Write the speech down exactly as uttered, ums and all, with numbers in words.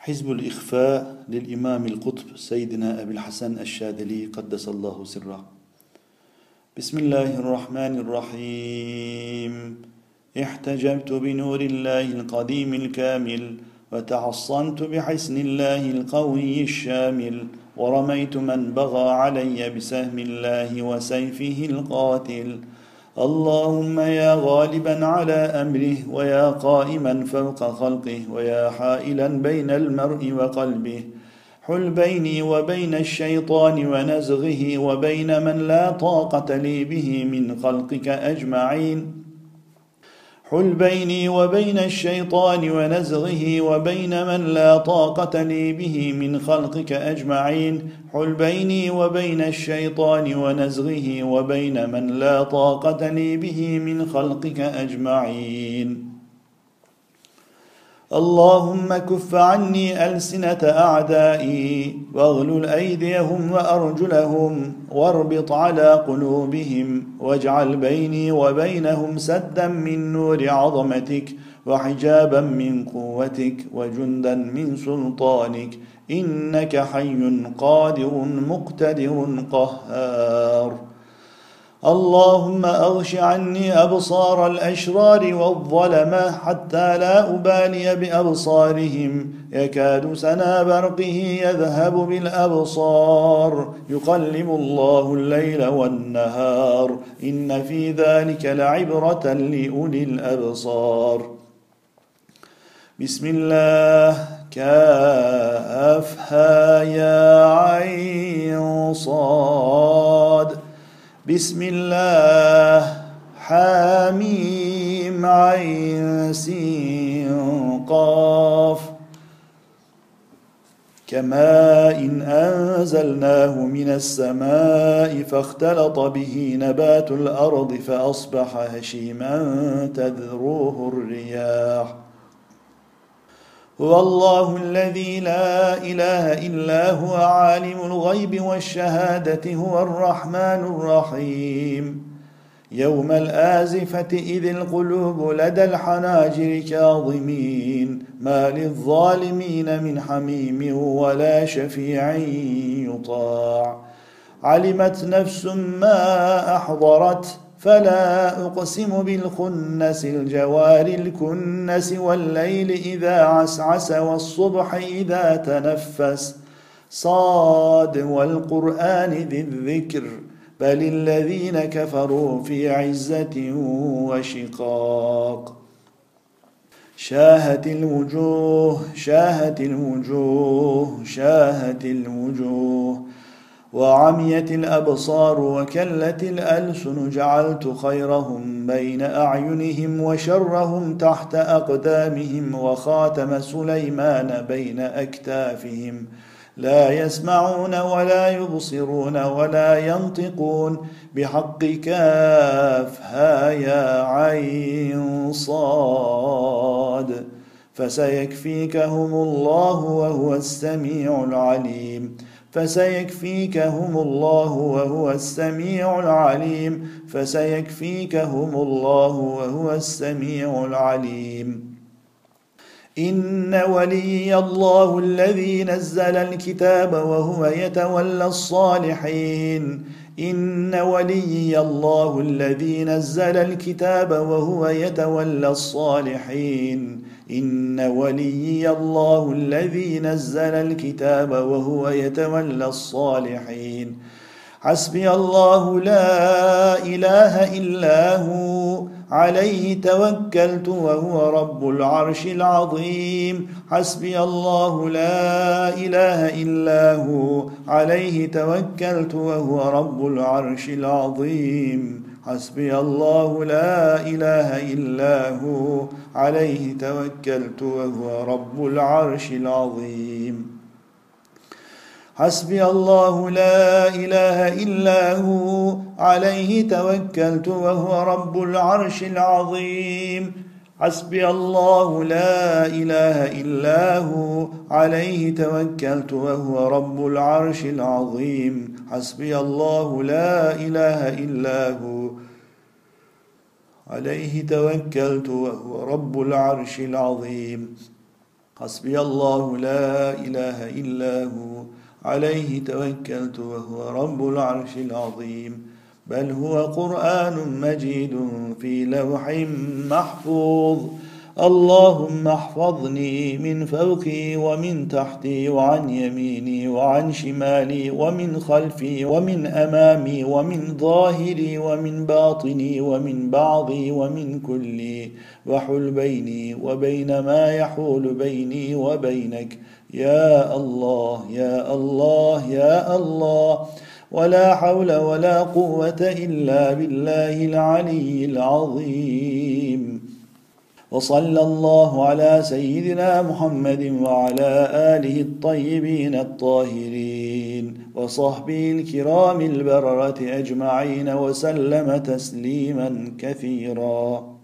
حزب الإخفاء للإمام القطب سيدنا أبي الحسن الشاذلي قدس الله سره. بسم الله الرحمن الرحيم. احتجبت بنور الله القديم الكامل، وتحصنت بحسن الله القوي الشامل، ورميت من بغى علي بسهم الله وسيفه القاتل. اللهم يا غالبا على أمره، ويا قائما فوق خلقه، ويا حائلا بين المرء وقلبه، حل بيني وبين الشيطان ونزغه، وبين من لا طاقة لي به من خلقك أجمعين. حل بيني وبين الشيطان ونزغه، وبين من لا طاقة لي به من خلقك أجمعين. حل بيني وبين الشيطان ونزغه، وبين من لا طاقة لي به من خلقك أجمعين. اللهم كف عني ألسنة أعدائي، واغلل أيديهم وأرجلهم، واربط على قلوبهم، واجعل بيني وبينهم سدا من نور عظمتك، وحجابا من قوتك، وجندا من سلطانك، إنك حي قادر مقتدر قهار. اللهم أغش عني أبصار الأشرار والظلمة، حتى لا أبالي بأبصارهم، يكاد سنا برقه يذهب بالأبصار، يقلب الله الليل والنهار، إن في ذلك لعبرة لأولي الأبصار. بسم الله. كافها يا عين صاد. بسم الله. حاميم عين سين قاف. كماء أنزلناه من السماء فاختلط به نبات الأرض فأصبح هشيما تذروه الرياح. هو الله الذي لا إله إلا هو عالم الغيب والشهادة، هو الرحمن الرحيم. يوم الآزفة إذ القلوب لدى الحناجر كاظمين، ما للظالمين من حميم ولا شفيع يطاع. علمت نفس ما أحضرت، فلا أقسم بالخنس الجوار الكنس، والليل إذا عسعس، والصبح إذا تنفس. صاد والقرآن ذي الذكر، بل الذين كفروا في عزة وشقاق. شاهت الوجوه شاهت الوجوه شاهت الوجوه، وعميت الأبصار وكلت الألسن، جعلت خيرهم بين أعينهم وشرهم تحت أقدامهم، وخاتم سليمان بين أكتافهم. لا يسمعون ولا يبصرون ولا ينطقون، بحق كافها يا عين صاد. فسيكفيكهم الله وهو السميع العليم. فسيكفيكهم الله وهو السميع العليم. فسيكفيكهم الله وهو السميع العليم. إن ولي الله الذي نزل الكتاب وهو يتولى الصالحين. إن ولي الله الذي نزل الكتاب وهو يتولى الصالحين. إن ولي الله الذي نزل الكتاب وهو يتولى الصالحين. حسبي الله لا إله إلا هو، عليه توكلت وهو رب العرش العظيم. حسبي الله لا إله إلا هو، عليه توكلت وهو رب العرش العظيم. حسبي الله لا إله إلا هو، عليه توكلت وهو رب العرش العظيم. حسبي الله لا إله إلا هو، عليه توكلت وهو رب العرش العظيم. حسبي الله لا إله إلا هو، عليه توكلت وهو رب العرش العظيم. حسبي الله لا إله إلا هو، عليه توكلت وهو رب العرش العظيم. حسبي الله لا إله إلا هو عليه توكلت وهو رب العرش العظيم بل هو قرآن مجيد في لوح محفوظ اللهم احفظني من فوقي ومن تحتي وعن يميني وعن شمالي ومن خلفي ومن أمامي ومن ظاهري ومن باطني ومن بعضي ومن كلي وحل بيني وبين ما يحول بيني وبينك يا الله يا الله يا الله ولا حول ولا قوة إلا بالله العلي العظيم وصلى الله على سيدنا محمد وعلى آله الطيبين الطاهرين وصحبه الكرام البررة أجمعين وسلم تسليما كثيرا.